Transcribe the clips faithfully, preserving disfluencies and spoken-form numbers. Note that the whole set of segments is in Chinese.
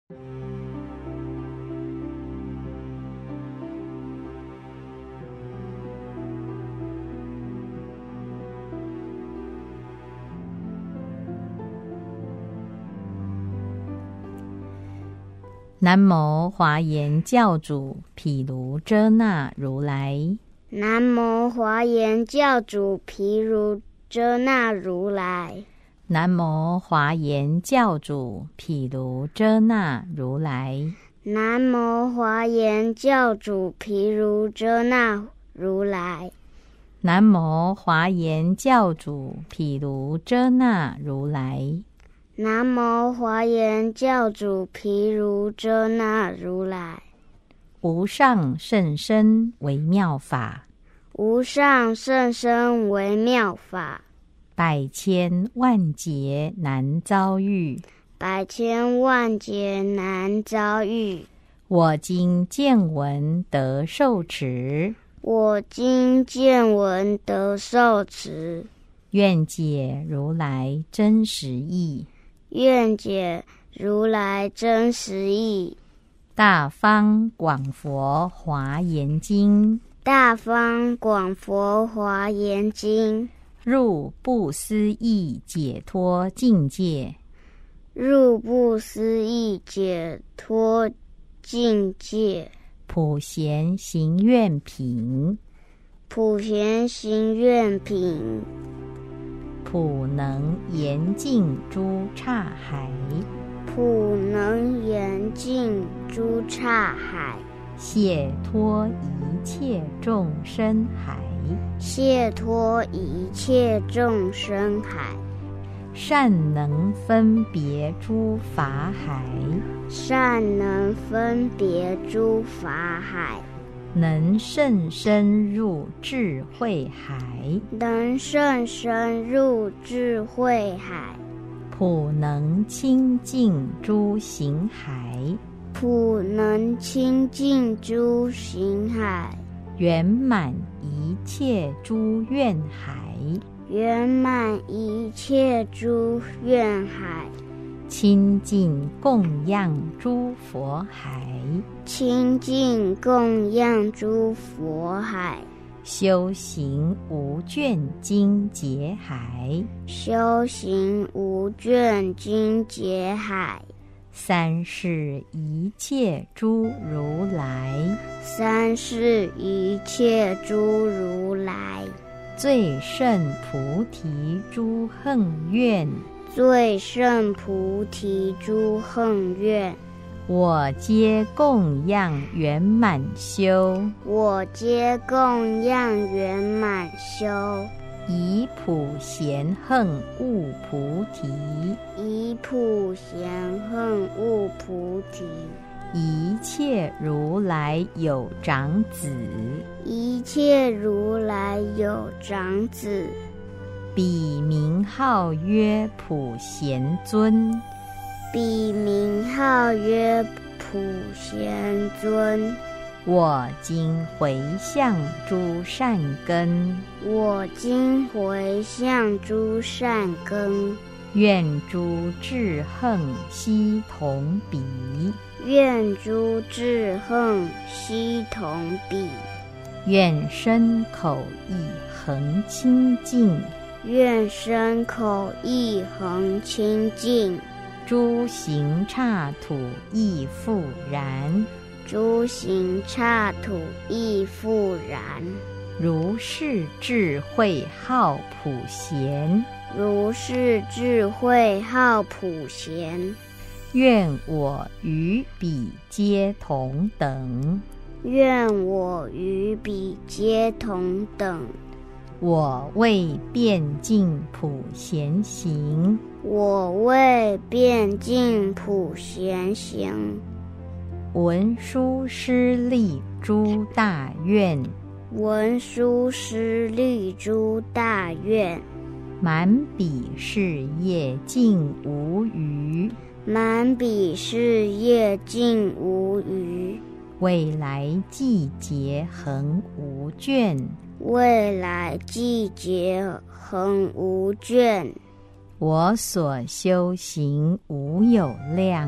南无华严教主毗卢遮那如来。 南无华严教主毗卢遮那如来。 南无华严教主毗卢遮那如来。 南无华严教主毗卢遮那如来。 南无华严教主毗卢遮那如来。 南无华严教主毗卢遮那如来。 无上甚深微妙法， 无上甚深微妙法， 百千万劫难遭遇， 百千万劫难遭遇。 我今见闻得受持， 我今见闻得受持， 愿解如来真实义， 愿解如来真实义。 大方广佛华严经， 大方广佛华严经， 入不思议解脱境界， 入不思议解脱境界。 普贤行愿品， 普贤行愿品， 普能严净诸刹海， 普能严净诸刹海， 解脱一切众生海， 解脱一切众生海， 善能分别诸法海， 善能分别诸法海， 能甚深入智慧海， 能甚深入智慧海， 普能清净诸行海， 普能清净诸行海， 圆满一切诸愿海， 圆满一切诸愿海， 清净供养诸佛海， 清净供养诸佛海， 修行无倦精劫海， 修行无倦精劫海， 三世一切诸如来， 三世一切诸如来， 最胜菩提诸横愿， 最胜菩提诸横愿， 我皆供养圆满修， 我皆供养圆满修， 以普贤横悟菩提， 以普贤横悟菩提， 一切如来有长子， 一切如来有长子， 彼名号曰普贤尊， 彼名号曰普贤尊。 我今回向诸善根， 我今回向诸善根， 愿诸智横悉同彼， 愿诸智横悉同彼， 愿身口意恒清净， 愿身口意恒清净， 诸行刹土亦复然， 诸行刹土亦复然。 如是智慧号普贤， 如是智慧号普贤， 愿我与彼皆同等， 愿我与彼皆同等。 我为遍尽普贤行， 我为遍尽普贤行， 文殊师利诸大愿， 文殊师利诸大愿， 满彼事业尽无余， 满彼事业尽无余， 未来季节恒无倦， 未来季节恒无倦。 我所修行无有量，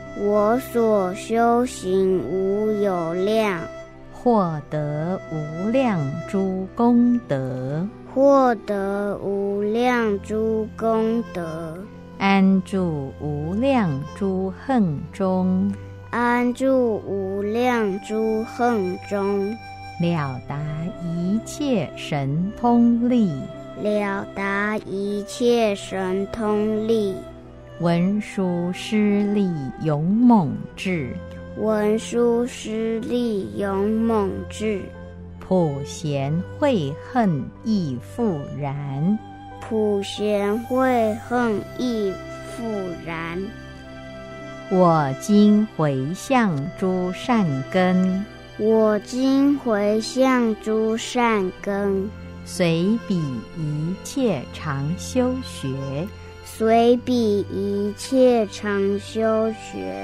我所修行无有量， 获得无量诸功德， 获得无量诸功德， 安住无量诸恨中， 安住无量诸恨中， 了达一切神通力， 了达一切神通力， 文殊师利勇猛智， 文殊师利勇猛智， 普贤慧恨亦复然， 普贤慧恨亦复然。 我今回向诸善根， 我今回向诸善根， 随彼一切常修学， 随彼一切常修学。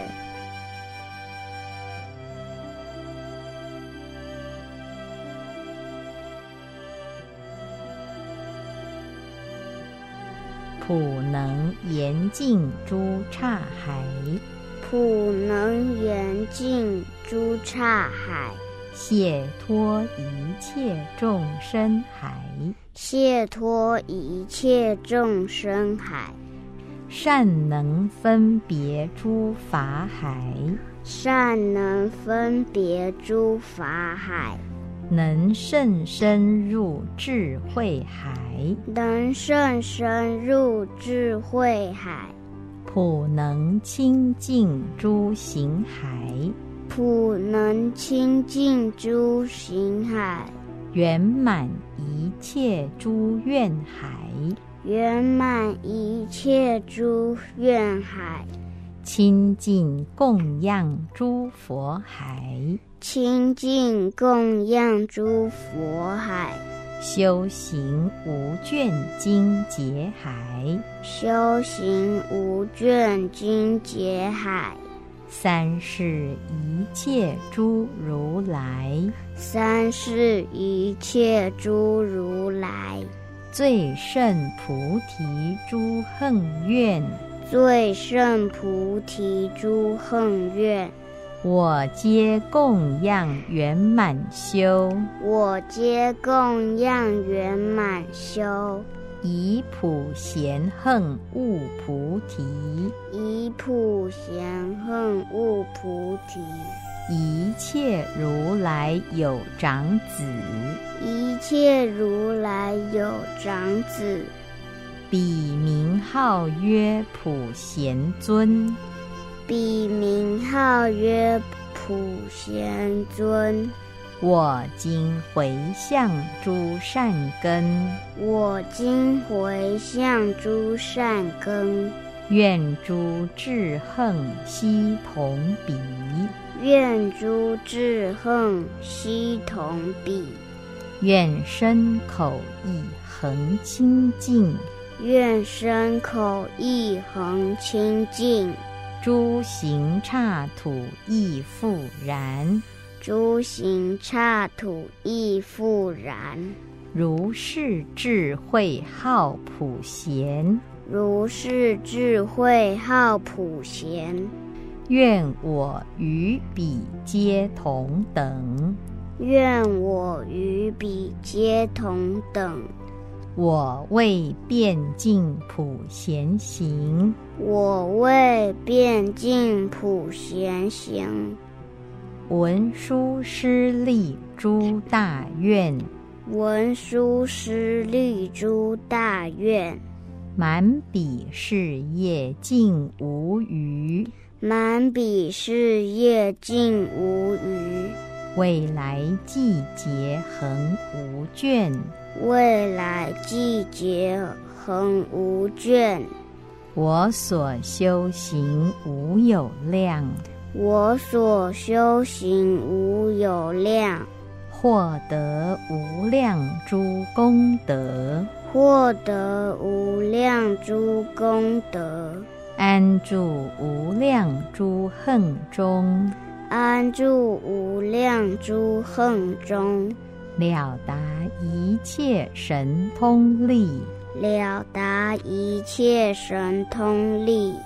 普能严净诸刹海， 普能严净诸刹海， 解脱一切众生海， 解脱一切众生海， 善能分别诸法海， 善能分别诸法海， 能甚深入智慧海， 能甚深入智慧海， 普能清净诸行海， 普能清净诸行海， 圆满一切诸愿海， 圆满一切诸愿海， 清净供养诸佛海， 清净供养诸佛海， 修行无倦精劫海， 修行无倦精劫海， 三世一切诸如来， 三世一切诸如来， 最胜菩提诸恨愿， 最胜菩提诸恨愿， 我皆供养圆满修， 我皆供养圆满修， 以普贤恨悟菩提， 以普贤恨悟菩提， 一切如来有长子， 一切如来有长子， 彼名号曰普贤尊， 彼名号曰普贤尊。 我今回向诸善根， 我今回向诸善根， 愿诸智恨悉同彼， 愿诸智恨悉同彼， 愿身口意恒清净， 愿身口意恒清净， 诸行刹土亦复然， 诸行刹土亦复然。 如是智慧号普贤， 如是智慧号普贤， 愿我与彼皆同等， 愿我与彼皆同等。 我为遍尽普贤行， 我为遍尽普贤行。 文殊师利诸大愿， 文殊师利诸大愿， 满彼事业尽无余， 满彼事业尽无余， 未来季节恒无倦， 未来季节恒无倦。 我所修行无有量， 我所修行无有量， 获得无量诸功德， 获得无量诸功德， 安住无量诸恨中， 安住无量诸恨中， 了达一切神通力， 了达一切神通力，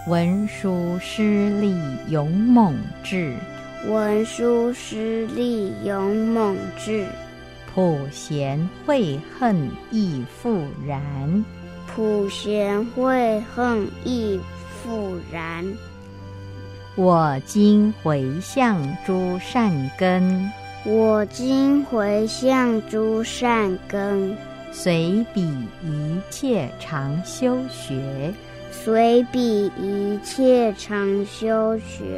文殊师利勇猛智， 文殊师利勇猛智， 普贤慧恨亦复然， 普贤慧恨亦复然。 我今回向诸善根， 我今回向诸善根， 随彼一切常修学， 随彼一切常修学。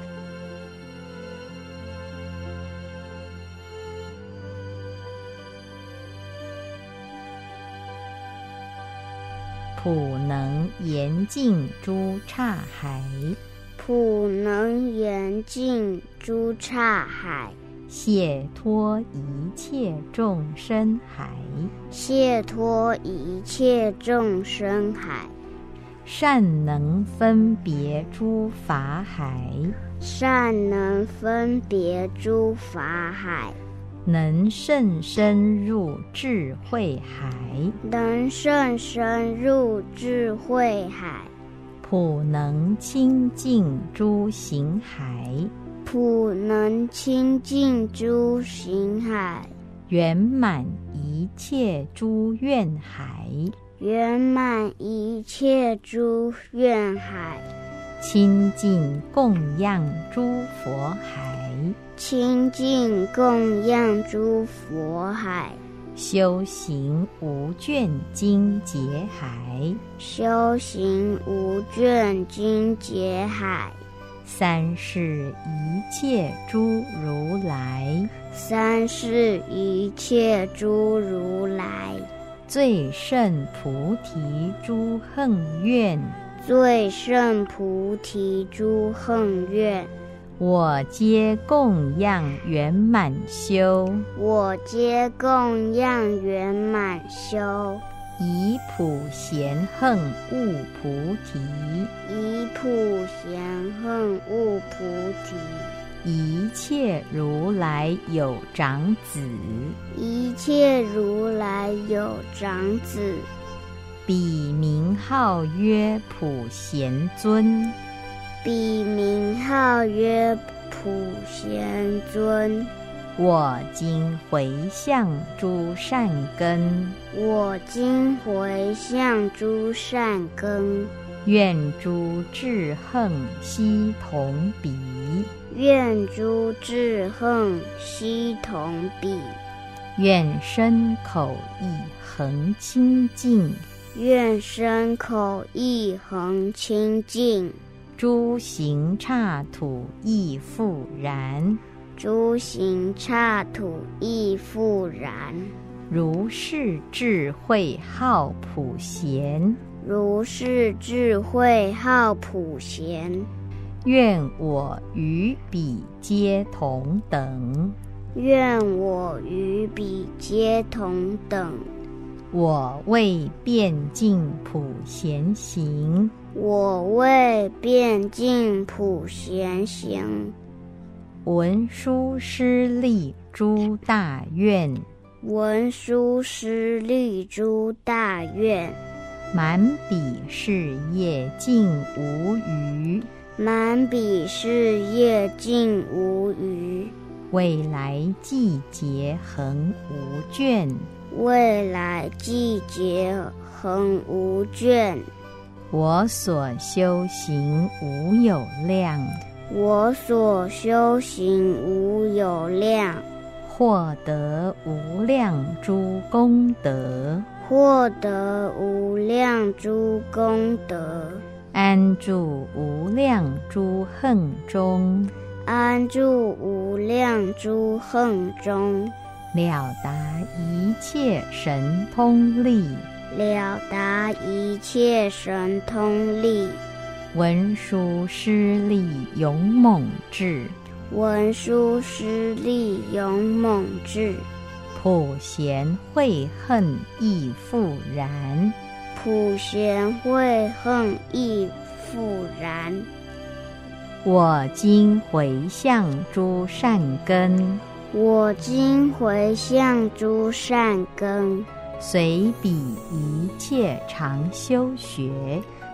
普能严净诸刹海， 普能严净诸刹海， 解脱一切众生海， 解脱一切众生海。 善能分别诸法海， 善能分别诸法海， 能甚深入智慧海， 能甚深入智慧海。 普能清净诸行海， 普能清净诸行海， 圆满一切诸愿海， 圆满一切诸愿海。 清净供养诸佛海， 清净供养诸佛海， 修行无倦精劫海， 修行无倦精劫海。 三世一切诸如来， 三世一切诸如来， 最胜菩提诸横愿， 最胜菩提诸横愿。 我皆供养圆满修， 我皆供养圆满修， 以普贤横悟菩提， 以普贤横悟菩提。 一切如来有长子， 一切如来有长子， 彼名号曰普贤尊， 彼名号曰普贤尊。 我今回向诸善根， 我今回向诸善根， 愿诸智横悉同彼， 愿诸智横悉同彼， 愿身口意恒清净， 愿身口意恒清净， 诸行刹土亦复然， 诸行刹土亦复然。 如是智慧号普贤， 如是智慧号普贤。 愿我与彼皆同等， 愿我与彼皆同等。 我为遍尽普贤行， 我为遍尽普贤行。 文殊师利诸大愿， 文殊师利诸大愿， 满彼事业尽无余， 满彼事业尽无余， 未来季节恒无倦， 未来季节恒无倦。 我所修行无有量， 我所修行无有量， 获得无量诸功德， 获得无量诸功德， 安住无量诸横中， 安住无量诸横中， 了达一切神通力， 了达一切神通力。 文殊师利勇猛智， 文殊师利勇猛智， 普贤慧恨亦复然， 普贤慧恨亦复然。 我今回向诸善根， 我今回向诸善根， 随彼一切常修学，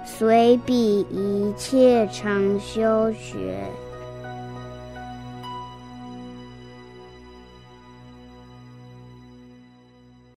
随彼一切常修学。